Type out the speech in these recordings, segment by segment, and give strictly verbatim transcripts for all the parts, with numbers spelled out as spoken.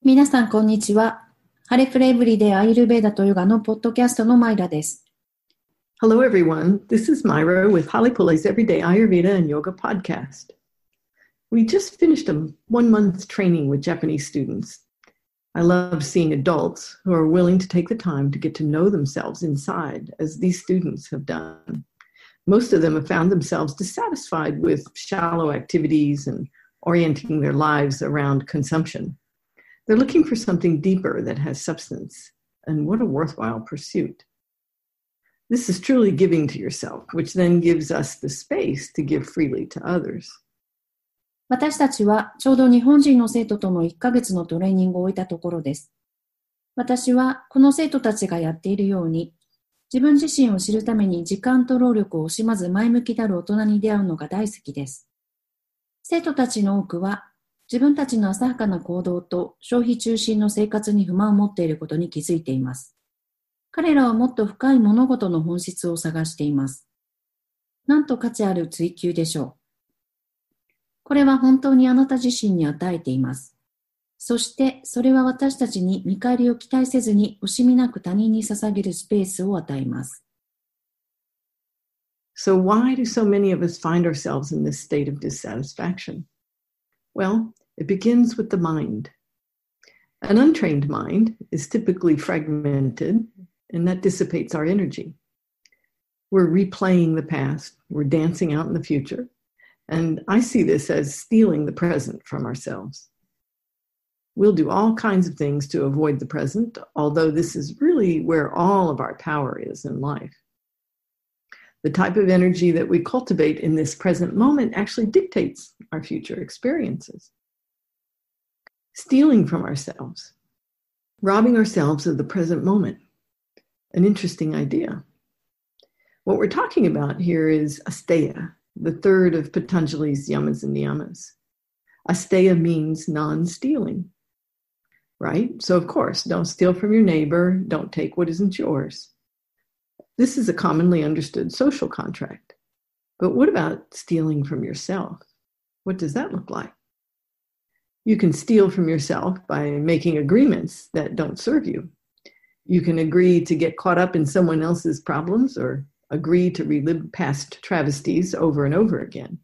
皆さん、こんにちは。ハレフレエブリデイアイルベーダとヨガのポッドキャストのマイラです。 Hello, everyone. This is Myra with Halepule's Everyday Ayurveda and Yoga podcast. We just finished a one-month training with Japanese students. I love seeing adults who are willing to take the time to get to know themselves inside, as these students have done. Most of them have found themselves dissatisfied with shallow activities and orienting their lives around consumption.They're looking for something deeper that has substance, and what a worthwhile pursuit. This is truly giving to yourself, which then gives us the space to give freely to others. 私たちはちょうど日本人の生徒とのいっかげつのトレーニングを終えたところです。私はこの生徒たちがやっているように、自分自身を知るために時間と労力を惜しまず前向きである大人に出会うのが大好きです。生徒たちの多くは、自分たちの浅はかな行動と消費中心の生活に不満を持っていることに気づいています。彼らはもっと深い物事の本質を探しています。なんと価値ある追求でしょう。これは本当にあなた自身に与えています。そしてそれは私たちに見返りを期待せずに惜しみなく他人に捧げるスペースを与えます。 So why do so many of us find ourselves in this state of dissatisfaction?Well,It begins with the mind. An untrained mind is typically fragmented, and that dissipates our energy. We're replaying the past, we're dancing out in the future, and I see this as stealing the present from ourselves. We'll do all kinds of things to avoid the present, although this is really where all of our power is in life. The type of energy that we cultivate in this present moment actually dictates our future experiences.Stealing from ourselves, robbing ourselves of the present moment. An interesting idea. What we're talking about here is asteya, the third of Patanjali's yamas and niyamas. Asteya means non-stealing, right? So of course, don't steal from your neighbor, don't take what isn't yours. This is a commonly understood social contract. But what about stealing from yourself? What does that look like?You can steal from yourself by making agreements that don't serve you. You can agree to get caught up in someone else's problems or agree to relive past travesties over and over again.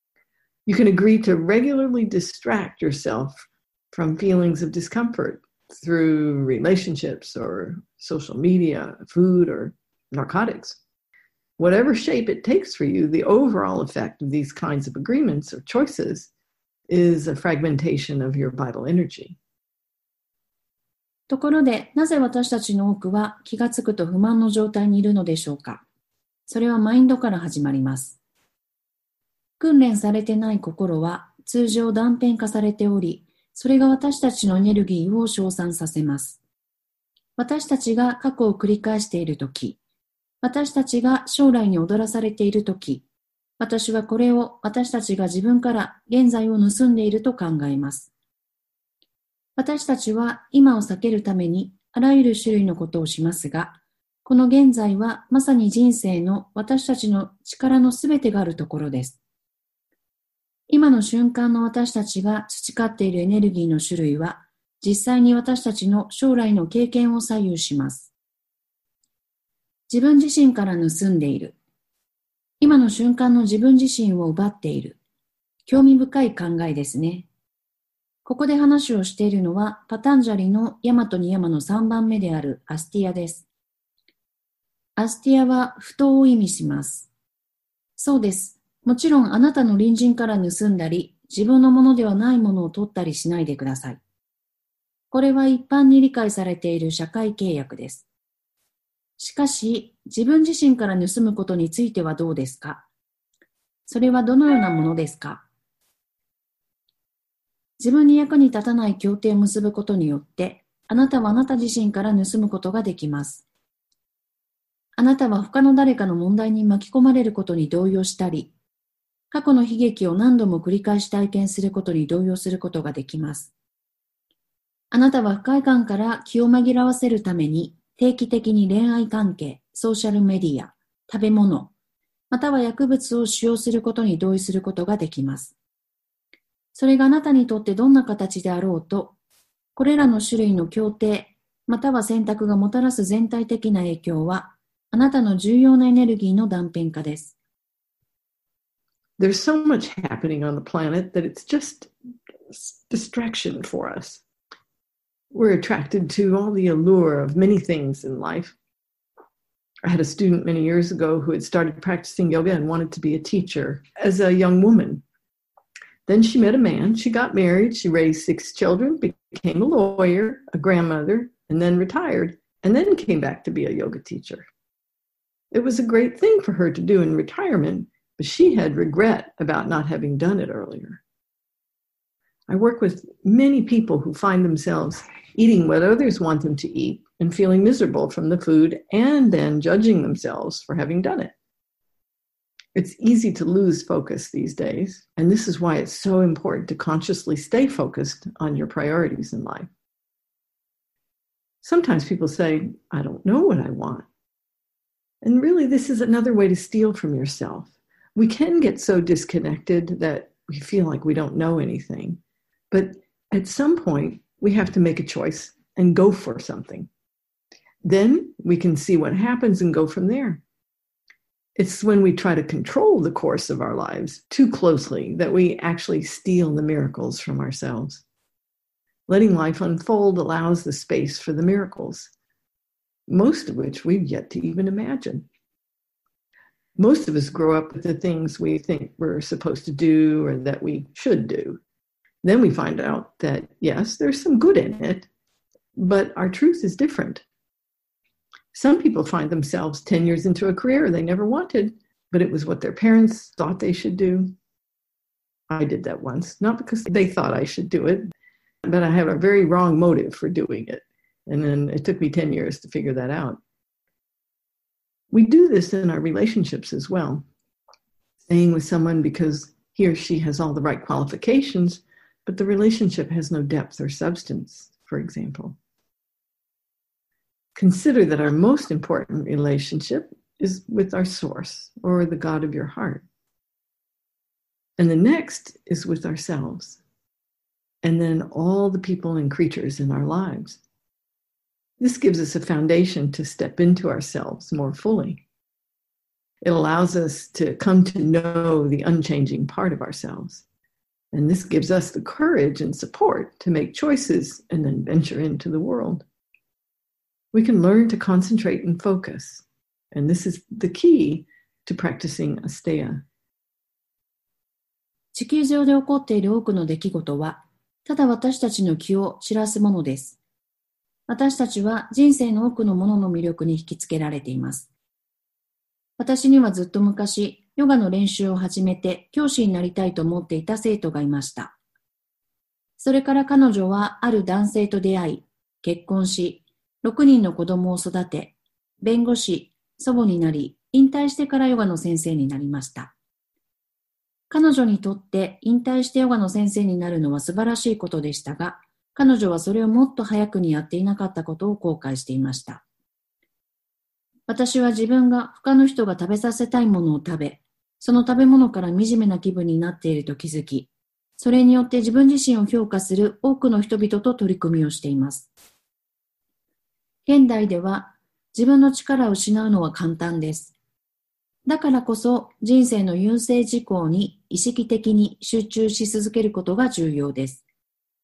You can agree to regularly distract yourself from feelings of discomfort through relationships or social media, food, or narcotics. Whatever shape it takes for you, the overall effect of these kinds of agreements or choices is a fragmentation of your vital energy. ところで、なぜ私たちの多くは気がつくと不満の状態にいるのでしょうか。それはマインドから始まります。訓練されてない心は通常断片化されており、それが私たちのエネルギーを消散させます。私たちが過去を繰り返しているとき、私たちが将来に踊らされているとき、私はこれを私たちが自分から現在を盗んでいると考えます。私たちは今を避けるためにあらゆる種類のことをしますが、この現在はまさに人生の私たちの力のすべてがあるところです。今の瞬間の私たちが培っているエネルギーの種類は、実際に私たちの将来の経験を左右します。自分自身から盗んでいる。今の瞬間の自分自身を奪っている。興味深い考えですね。ここで話をしているのは、パタンジャリのヤマとニヤマのさんばんめであるアスティアです。アスティアは不当を意味します。そうです。もちろんあなたの隣人から盗んだり、自分のものではないものを取ったりしないでください。これは一般に理解されている社会契約です。しかし、自分自身から盗むことについてはどうですか？それはどのようなものですか？自分に役に立たない協定を結ぶことによって、あなたはあなた自身から盗むことができます。あなたは他の誰かの問題に巻き込まれることに動揺したり、過去の悲劇を何度も繰り返し体験することに動揺することができます。あなたは不快感から気を紛らわせるために定期的に恋愛関係、ソーシャルメディア、食べ物、または薬物を使用することに同意することができます。それがあなたにとってどんな形であろうと、 これらの種類の協定、または選択がもたらす全体的な影響は、あなたの重要なエネルギーの断片化です。 There's so much happening on the planet that it's just distraction for us. We're attracted to all the allure of many things in life. I had a student many years ago who had started practicing yoga and wanted to be a teacher as a young woman. Then she met a man, she got married, she raised six children, became a lawyer, a grandmother, and then retired, and then came back to be a yoga teacher. It was a great thing for her to do in retirement, but she had regret about not having done it earlier. I work with many people who find themselves eating what others want them to eat and feeling miserable from the food and then judging themselves for having done it. It's easy to lose focus these days, and this is why it's so important to consciously stay focused on your priorities in life. Sometimes people say, I don't know what I want. And really, this is another way to steal from yourself. We can get so disconnected that we feel like we don't know anything. But at some point, we have to make a choice and go for something. Then we can see what happens and go from there. It's when we try to control the course of our lives too closely that we actually steal the miracles from ourselves. Letting life unfold allows the space for the miracles, most of which we've yet to even imagine. Most of us grow up with the things we think we're supposed to do or that we should do. Then we find out that, yes, there's some good in it, but our truth is different. Some people find themselves ten years into a career they never wanted, but it was what their parents thought they should do. I did that once, not because they thought I should do it, but I had a very wrong motive for doing it. And then it took me ten years to figure that out. We do this in our relationships as well. Staying with someone because he or she has all the right qualifications, but the relationship has no depth or substance, for example. Consider that our most important relationship is with our source, or the God of your heart. And the next is with ourselves, and then all the people and creatures in our lives. This gives us a foundation to step into ourselves more fully. It allows us to come to know the unchanging part of ourselves. And this gives us the courage and support to make choices and then venture into the world. We can learn to concentrate and focus. And this is the key to practicing asteya. 地球上で起こっている多くの出来事は、ただ私たちの気を散らすものです。私たちは人生の多くのものの魅力に引きつけられています。私にはずっと昔、ヨガの練習を始めて教師になりたいと思っていた生徒がいました。それから彼女はある男性と出会い、結婚し、ろくにんの子供を育て、弁護士、祖母になり、引退してからヨガの先生になりました。彼女にとって引退してヨガの先生になるのは素晴らしいことでしたが、彼女はそれをもっと早くにやっていなかったことを後悔していました。私は自分が他の人が食べさせたいものを食べ、その食べ物から惨めな気分になっていると気づき、それによって自分自身を評価する多くの人々と取り組みをしています。現代では自分の力を失うのは簡単です。だからこそ人生の優先事項に意識的に集中し続けることが重要です。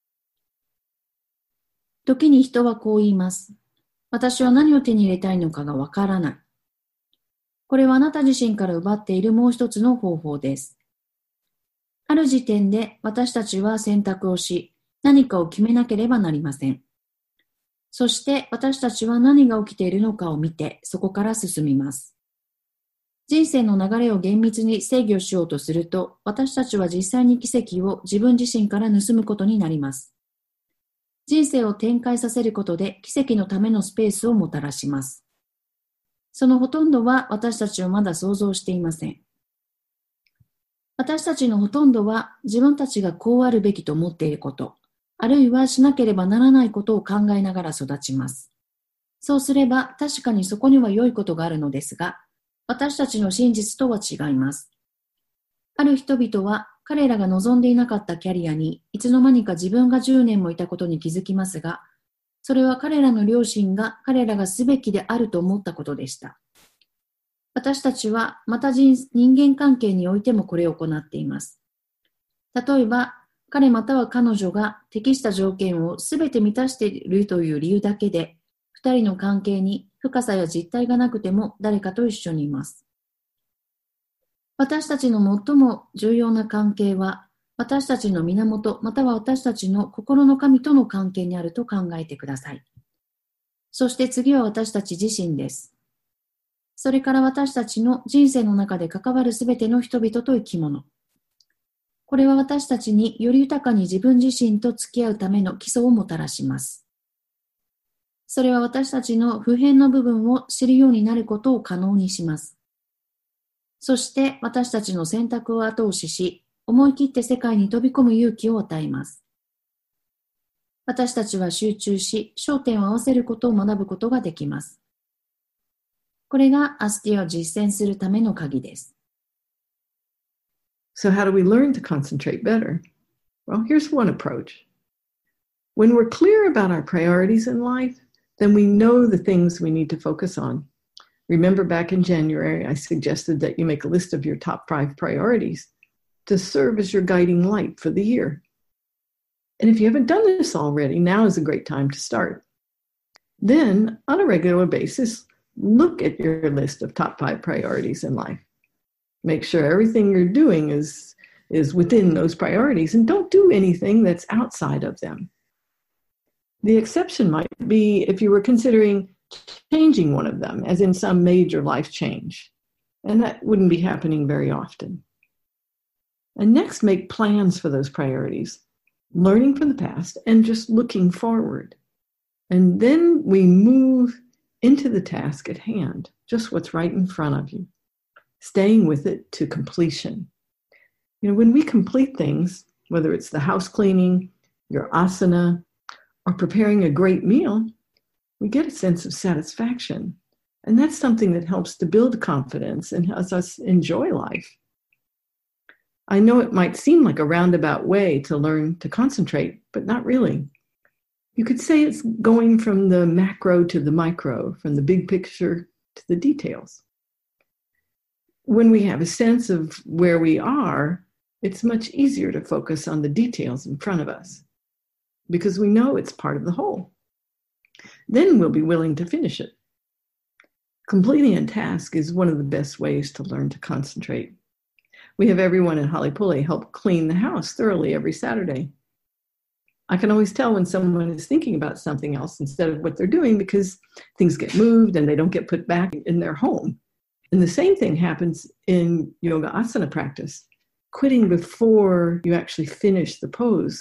時に人はこう言います。私は何を手に入れたいのかがわからない。これはあなた自身から奪っているもう一つの方法です。ある時点で私たちは選択をし、何かを決めなければなりません。そして私たちは何が起きているのかを見て、そこから進みます。人生の流れを厳密に制御しようとすると、私たちは実際に奇跡を自分自身から盗むことになります。人生を展開させることで奇跡のためのスペースをもたらします。そのほとんどは私たちはまだ想像していません。私たちのほとんどは自分たちがこうあるべきと思っていること、あるいはしなければならないことを考えながら育ちます。そうすれば確かにそこには良いことがあるのですが、私たちの真実とは違います。ある人々は彼らが望んでいなかったキャリアにいつの間にか自分がじゅうねんもいたことに気づきますが、それは彼らの両親が彼らがすべきであると思ったことでした。私たちはまた人間関係においてもこれを行っています。例えば、彼または彼女が適した条件をすべて満たしているという理由だけで、二人の関係に深さや実態がなくても誰かと一緒にいます。私たちの最も重要な関係は、私たちの源または私たちの心の神との関係にあると考えてください。そして次は私たち自身です。それから私たちの人生の中で関わるすべての人々と生き物。これは私たちにより豊かに自分自身と付き合うための基礎をもたらします。それは私たちの普遍の部分を知るようになることを可能にします。そして私たちの選択を後押しし、思い切って世界に飛び込む勇気を与えます。私たちは集中し、焦点を合わせることを学ぶことができます。これがアスティアを実践するための鍵です。 So how do we learn to concentrate better? Well, here's one approach. When we're clear about our priorities in life, then we know the things we need to focus on.Remember back in January, I suggested that you make a list of your top five priorities to serve as your guiding light for the year. And if you haven't done this already, now is a great time to start. Then, on a regular basis, look at your list of top five priorities in life. Make sure everything you're doing is, is within those priorities, and don't do anything that's outside of them. The exception might be if you were considering changing one of them, as in some major life change. And that wouldn't be happening very often. And next, make plans for those priorities, learning from the past and just looking forward. And then we move into the task at hand, just what's right in front of you, staying with it to completion. You know, when we complete things, whether it's the house cleaning, your asana, or preparing a great meal,we get a sense of satisfaction. And that's something that helps to build confidence and helps us enjoy life. I know it might seem like a roundabout way to learn to concentrate, but not really. You could say it's going from the macro to the micro, from the big picture to the details. When we have a sense of where we are, it's much easier to focus on the details in front of us because we know it's part of the whole.Then we'll be willing to finish it. Completing a task is one of the best ways to learn to concentrate. We have everyone in Halipule help clean the house thoroughly every Saturday. I can always tell when someone is thinking about something else instead of what they're doing because things get moved and they don't get put back in their home. And the same thing happens in yoga asana practice, quitting before you actually finish the pose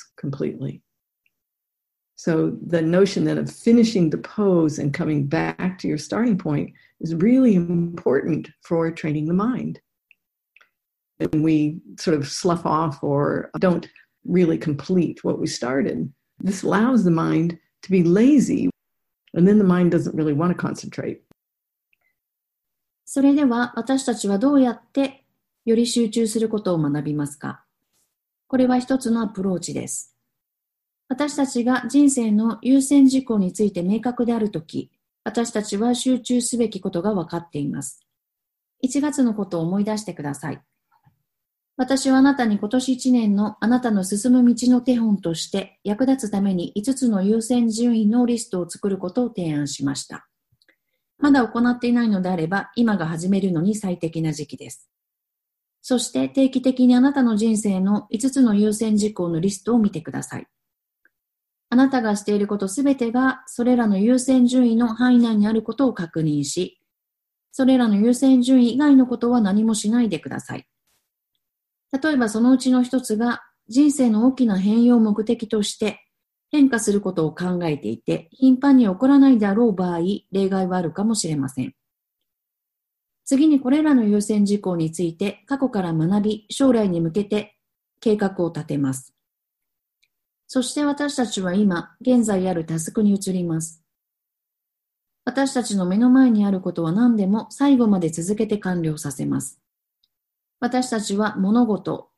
completely.So the notion then of finishing the pose and coming back to your starting point is really important for training the mind. When we sort of slough off or don't really complete what we started, this allows the mind to be lazy, and then the mind doesn't really want to concentrate. それでは私たちはどうやってより集中することを学びますか？これは一つのアプローチです。私たちが人生の優先事項について明確であるとき、私たちは集中すべきことが分かっています。いちがつのことを思い出してください。私はあなたに今年いちねんのあなたの進む道の手本として役立つためにいつつの優先順位のリストを作ることを提案しました。まだ行っていないのであれば、今が始めるのに最適な時期です。そして定期的にあなたの人生のいつつの優先事項のリストを見てください。あなたがしていることすべてがそれらの優先順位の範囲内にあることを確認し、それらの優先順位以外のことは何もしないでください。例えばそのうちの一つが人生の大きな変容を目的として変化することを考えていて頻繁に起こらないであろう場合、例外はあるかもしれません。次にこれらの優先事項について過去から学び、将来に向けて計画を立てます。そして私たちは今、現在あるタスクに移ります。私たちの目の前にあることは何でも最後まで続けて完了させます。私たちは物事、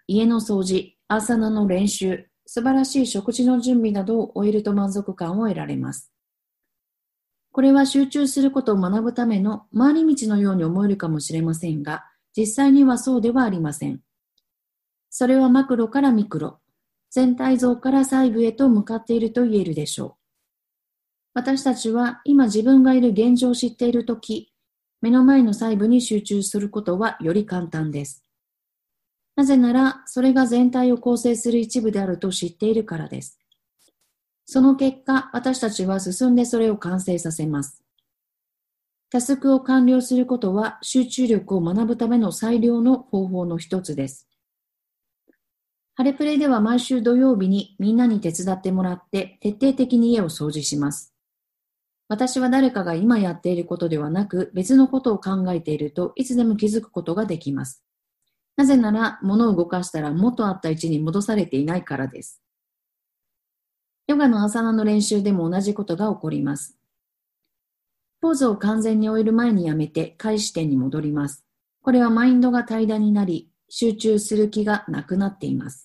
家の掃除、アーサナの練習、素晴らしい食事の準備などを終えると満足感を得られます。これは集中することを学ぶための回り道のように思えるかもしれませんが、実際にはそうではありません。それはマクロからミクロ、全体像から細部へと向かっていると言えるでしょう。私たちは今自分がいる現状を知っているとき、目の前の細部に集中することはより簡単です。なぜなら、それが全体を構成する一部であると知っているからです。その結果、私たちは進んでそれを完成させます。タスクを完了することは集中力を学ぶための最良の方法の一つです。ハレプレでは毎週土曜日にみんなに手伝ってもらって徹底的に家を掃除します。私は誰かが今やっていることではなく別のことを考えているといつでも気づくことができます。なぜなら物を動かしたら元あった位置に戻されていないからです。ヨガのアサナの練習でも同じことが起こります。ポーズを完全に終える前にやめて開始点に戻ります。これはマインドが平らになり、集中する気がなくなっています。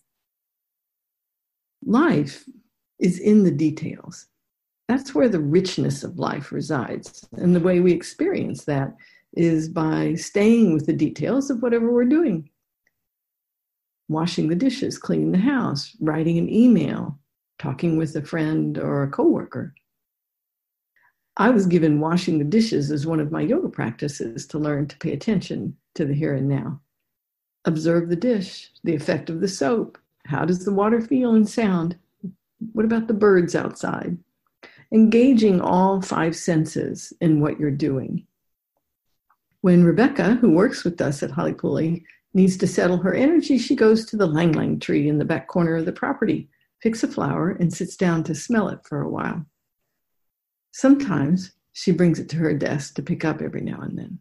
Life is in the details. That's where the richness of life resides. And the way we experience that is by staying with the details of whatever we're doing. Washing the dishes, cleaning the house, writing an email, talking with a friend or a coworker. I was given washing the dishes as one of my yoga practices to learn to pay attention to the here and now. Observe the dish, the effect of the soap. How does the water feel and sound? What about the birds outside? Engaging all five senses in what you're doing. When Rebecca, who works with us at Halepule, needs to settle her energy, she goes to the lang lang tree in the back corner of the property, picks a flower, and sits down to smell it for a while. Sometimes she brings it to her desk to pick up every now and then.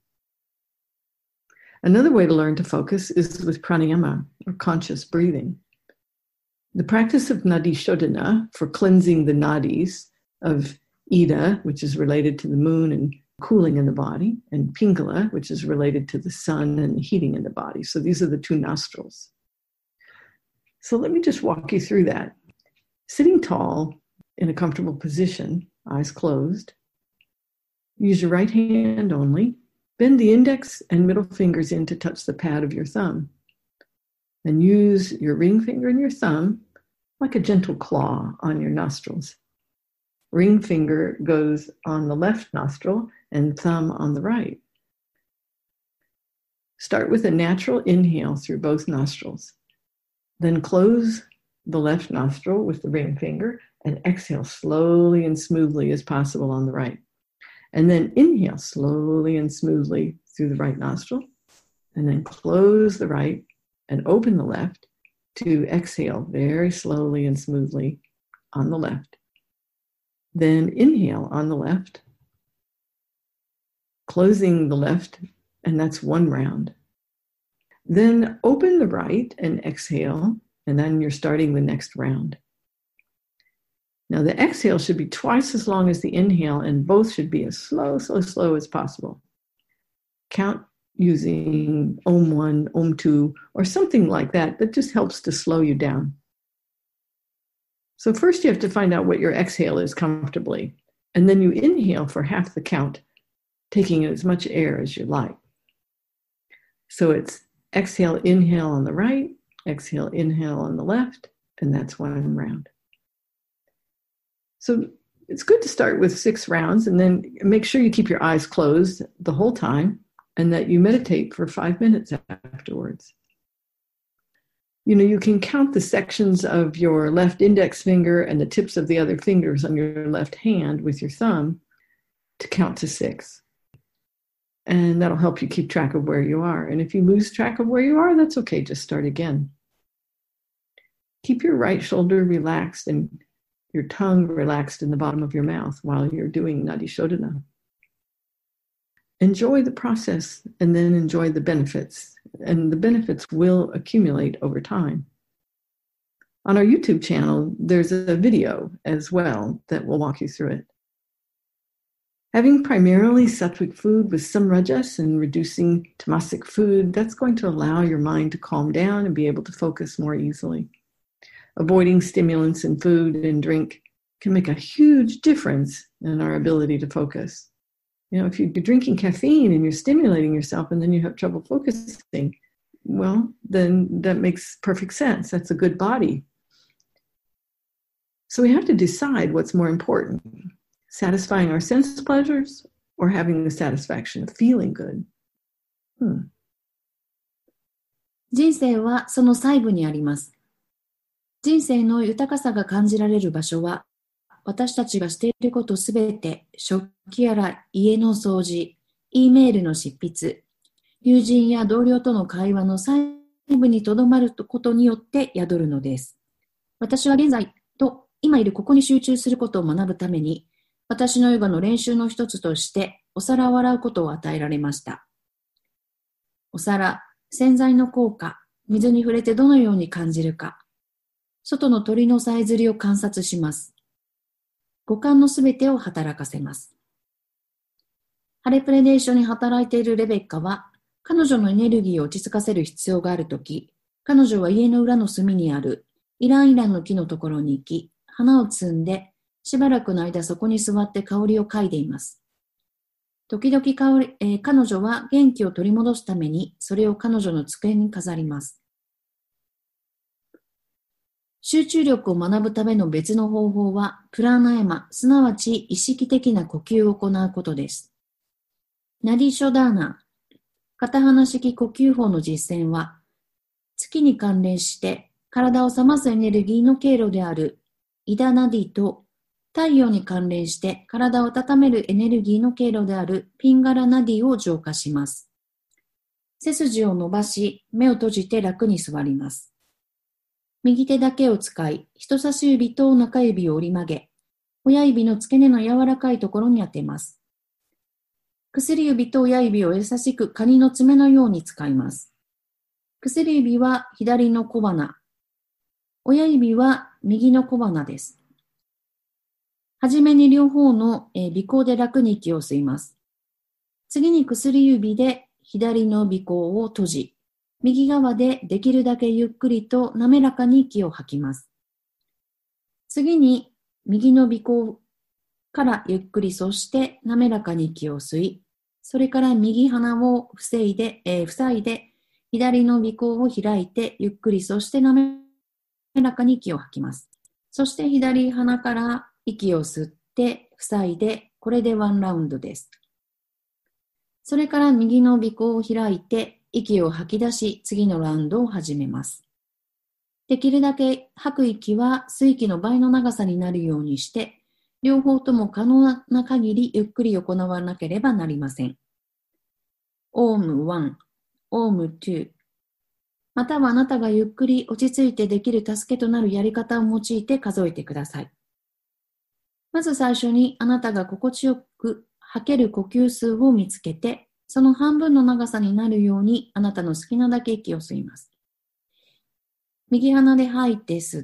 Another way to learn to focus is with pranayama, or conscious breathing. The practice of nadi shodhana, for cleansing the nadis of Ida, which is related to the moon and cooling in the body, and Pingala, which is related to the sun and heating in the body. So these are the two nostrils. So let me just walk you through that. Sitting tall in a comfortable position, eyes closed. Use your right hand only. Bend the index and middle fingers in to touch the pad of your thumb. And use your ring finger and your thumb like a gentle claw on your nostrils. Ring finger goes on the left nostril and thumb on the right. Start with a natural inhale through both nostrils. Then close the left nostril with the ring finger and exhale slowly and smoothly as possible on the right. And then inhale slowly and smoothly through the right nostril. And then close the right and open the left to exhale very slowly and smoothly on the left. Then inhale on the left, closing the left, and that's one round. Then open the right and exhale, and then you're starting the next round. Now the exhale should be twice as long as the inhale, and both should be as slow, slow, slow as possible. Count using Om one, Om two, or something like that that just helps to slow you down. So first you have to find out what your exhale is comfortably, and then you inhale for half the count, taking in as much air as you like. So it's exhale, inhale on the right, exhale, inhale on the left, and that's one round. So it's good to start with six rounds and then make sure you keep your eyes closed the whole time and that you meditate for five minutes afterwards. You know, you can count the sections of your left index finger and the tips of the other fingers on your left hand with your thumb to count to six. And that'll help you keep track of where you are. And if you lose track of where you are, that's okay. Just start again. Keep your right shoulder relaxed and your tongue relaxed in the bottom of your mouth while you're doing Nadi Shodhana. Enjoy the process and then enjoy the benefits. And the benefits will accumulate over time. On our YouTube channel, there's a video as well that will walk you through it. Having primarily sattvic food with some rajas and reducing tamasic food, that's going to allow your mind to calm down and be able to focus more easily. Avoiding stimulants in food and drink can make a huge difference in our ability to focus. You know, if you're drinking caffeine and you're stimulating yourself and then you have trouble focusing, well, then that makes perfect sense. That's a good body. So we have to decide what's more important, satisfying our sense pleasures or having the satisfaction of feeling good. Hmm. 人生はその細部にあります。人生の豊かさが感じられる場所は、私たちがしていることすべて、食器やら家の掃除、Eメールの執筆、友人や同僚との会話の細部にとどまることによって宿るのです。私は現在と今いるここに集中することを学ぶために、私のヨガの練習の一つとしてお皿を洗うことを与えられました。お皿、洗剤の効果、水に触れてどのように感じるか、外の鳥のさえずりを観察します。五感のすべてを働かせます。ハレプレで一緒に働いているレベッカは、彼女のエネルギーを落ち着かせる必要があるとき、彼女は家の裏の隅にあるイランイランの木のところに行き、花を摘んで、しばらくの間そこに座って香りを嗅いでいます。時々香り、えー、彼女は元気を取り戻すために、それを彼女の机に飾ります。集中力を学ぶための別の方法は、プラーナヤマ、すなわち意識的な呼吸を行うことです。ナディショダーナ、片鼻式呼吸法の実践は、月に関連して体を冷ますエネルギーの経路であるイダナディと、太陽に関連して体を温めるエネルギーの経路であるピンガラナディを浄化します。背筋を伸ばし、目を閉じて楽に座ります。右手だけを使い、人差し指と中指を折り曲げ、親指の付け根の柔らかいところに当てます。薬指と親指を優しくカニの爪のように使います。薬指は左の小鼻、親指は右の小鼻です。はじめに両方の鼻孔で楽に息を吸います。次に薬指で左の鼻孔を閉じ、右側でできるだけゆっくりと滑らかに息を吐きます。次に右の鼻孔からゆっくりそして滑らかに息を吸い、それから右鼻を防いで、えー、塞いで左の鼻孔を開いてゆっくりそして滑らかに息を吐きます。そして左鼻から息を吸って塞いで、これでワンラウンドです。それから右の鼻孔を開いて息を吐き出し、次のラウンドを始めます。できるだけ吐く息は吸う息の倍の長さになるようにして、両方とも可能な限りゆっくり行わなければなりません。オームワン、オームツー、またはあなたがゆっくり落ち着いてできる助けとなるやり方を用いて数えてください。まず最初にあなたが心地よく吐ける呼吸数を見つけて、その半分の長さになるようにあなたの好きなだけ息を吸います。右鼻で吐いて吸って、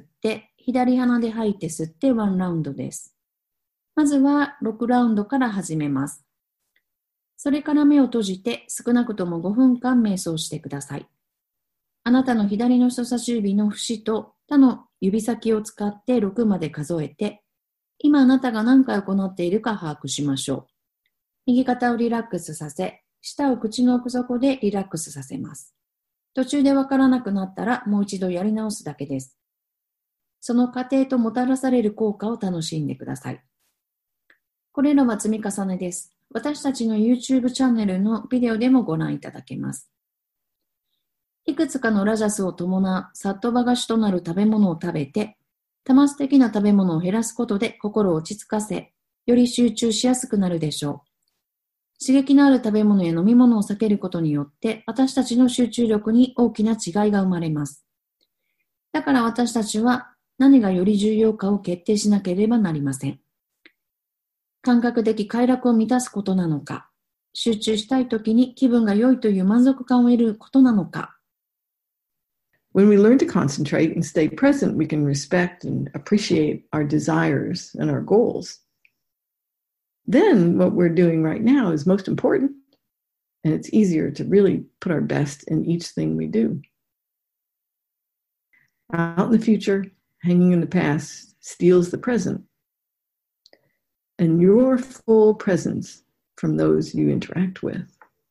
左鼻で吐いて吸ってワンラウンドです。まずはろくラウンドから始めます。それから目を閉じて少なくともごふんかん瞑想してください。あなたの左の人差し指の節と他の指先を使ってろくまで数えて、今あなたが何回行っているか把握しましょう。右肩をリラックスさせ、舌を口の奥底でリラックスさせます。途中でわからなくなったらもう一度やり直すだけです。その過程ともたらされる効果を楽しんでください。これらは積み重ねです。私たちの YouTube チャンネルのビデオでもご覧いただけます。いくつかのラジャスを伴うサットバガシとなる食べ物を食べて、タマス的な食べ物を減らすことで心を落ち着かせ、より集中しやすくなるでしょう。刺激のある食べ物や飲み物を避けることによって、私たちの集中力に大きな違いが生まれます。だから私たちは何がより重要かを決定しなければなりません。感覚的快楽を満たすことなのか、集中したいときに気分が良いという満足感を得ることなのか。 When we learn to concentrate and stay present, we can respect and appreciate our desires and our goals. then what we're doing right now is most important, and it's easier to really put our best in each thing we do. Out in the future, hanging in the past steals the present, and your full presence from those you interact with.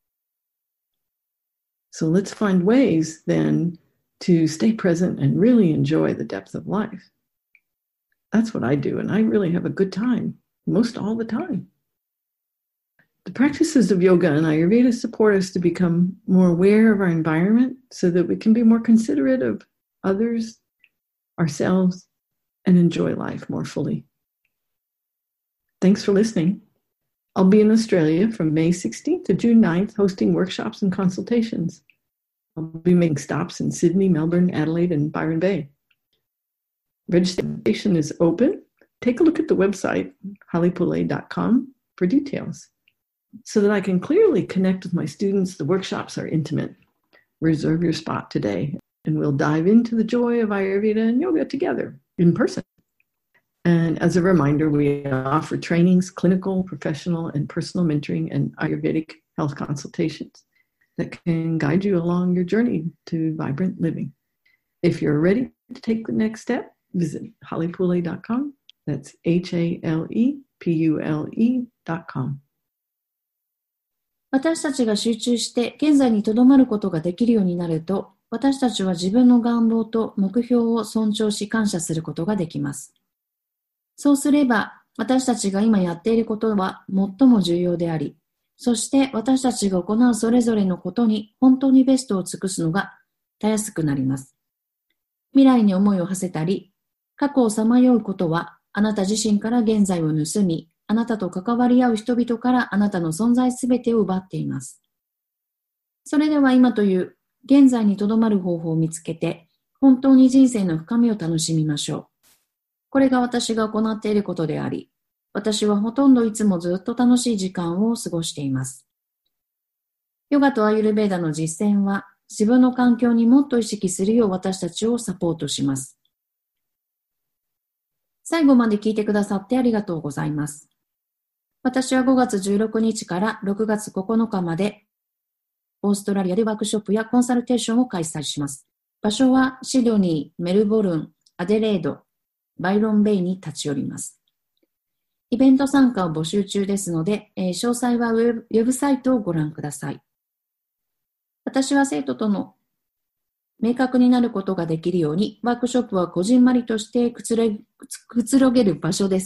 So let's find ways then to stay present and really enjoy the depth of life. That's what I do, and I really have a good time, most all the time. The practices of yoga and Ayurveda support us to become more aware of our environment so that we can be more considerate of others, ourselves, and enjoy life more fully. Thanks for listening. I'll be in Australia from May sixteenth to June ninth, hosting workshops and consultations. I'll be making stops in Sydney, Melbourne, Adelaide, and Byron Bay. Registration is open. Take a look at the website, holly poulet dot com, for details. So that I can clearly connect with my students, the workshops are intimate. Reserve your spot today, and we'll dive into the joy of Ayurveda and yoga together in person. And as a reminder, we offer trainings, clinical, professional, and personal mentoring and Ayurvedic health consultations that can guide you along your journey to vibrant living. If you're ready to take the next step, visit holly poulet dot com. That's H A L E P U L E dot com. 私たちが集中して現在にとどまることができるようになると、私たちは自分の願望と目標を尊重し感謝することができます。そうすれば、私たちが今やっていることは最も重要であり、そして私たちが行うそれぞれのことに本当にベストを尽くすのがたやすくなります。未来に思いを馳せたり、過去をさまようことは、あなた自身から現在を盗み、あなたと関わり合う人々からあなたの存在すべてを奪っています。それでは今という現在にとどまる方法を見つけて、本当に人生の深みを楽しみましょう。これが私が行っていることであり、私はほとんどいつもずっと楽しい時間を過ごしています。ヨガとアーユルヴェーダの実践は、自分の環境にもっと意識するよう私たちをサポートします。最後まで聞いてくださってありがとうございます。私はごがつじゅうろくにちからろくがつここのかまで、オーストラリアでワークショップやコンサルテーションを開催します。場所はシドニー、メルボルン、アデレード、バイロンベイに立ち寄ります。イベント参加を募集中ですので、えー、詳細はウェブ、ウェブサイトをご覧ください。私は生徒との明確になることができるように、ワークショップはこじんまりとしてくつれ、くつろげる場所です。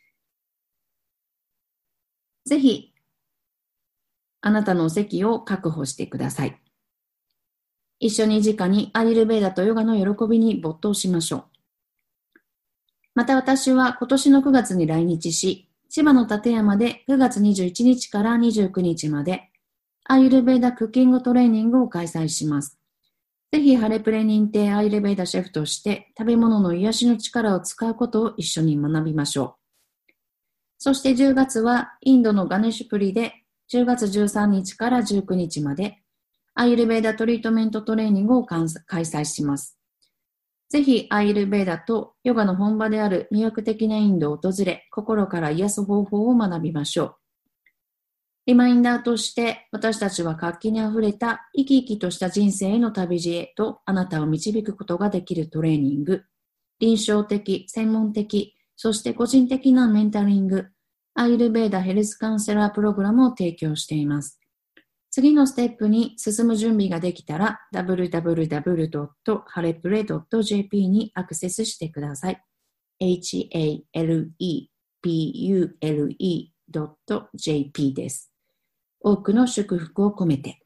ぜひ、あなたのお席を確保してください。一緒に直にアーユルヴェーダとヨガの喜びに没頭しましょう。また私は今年のくがつに来日し、千葉の館山でくがつにじゅういちにちからにじゅうくにちまでアーユルヴェーダクッキングトレーニングを開催します。ぜひハレプレ認定アーユルヴェーダシェフとして食べ物の癒しの力を使うことを一緒に学びましょう。そしてじゅうがつはインドのガネシュプリでじゅうがつじゅうさんにちからじゅうくにちまでアーユルヴェーダトリートメントトレーニングを開催します。ぜひアーユルヴェーダとヨガの本場である魅力的なインドを訪れ、心から癒す方法を学びましょう。リマインダーとして私たちは活気にあふれた生き生きとした人生への旅路へとあなたを導くことができるトレーニング、臨床的、専門的、そして個人的なメンタリング、アーユルヴェーダヘルスカウンセラープログラムを提供しています。次のステップに進む準備ができたら ダブリューダブリューダブリュードットハレプレドットジェーピー にアクセスしてください。エイチエーエルイーピーユーエルイードットジェーピー です。多くの祝福を込めて。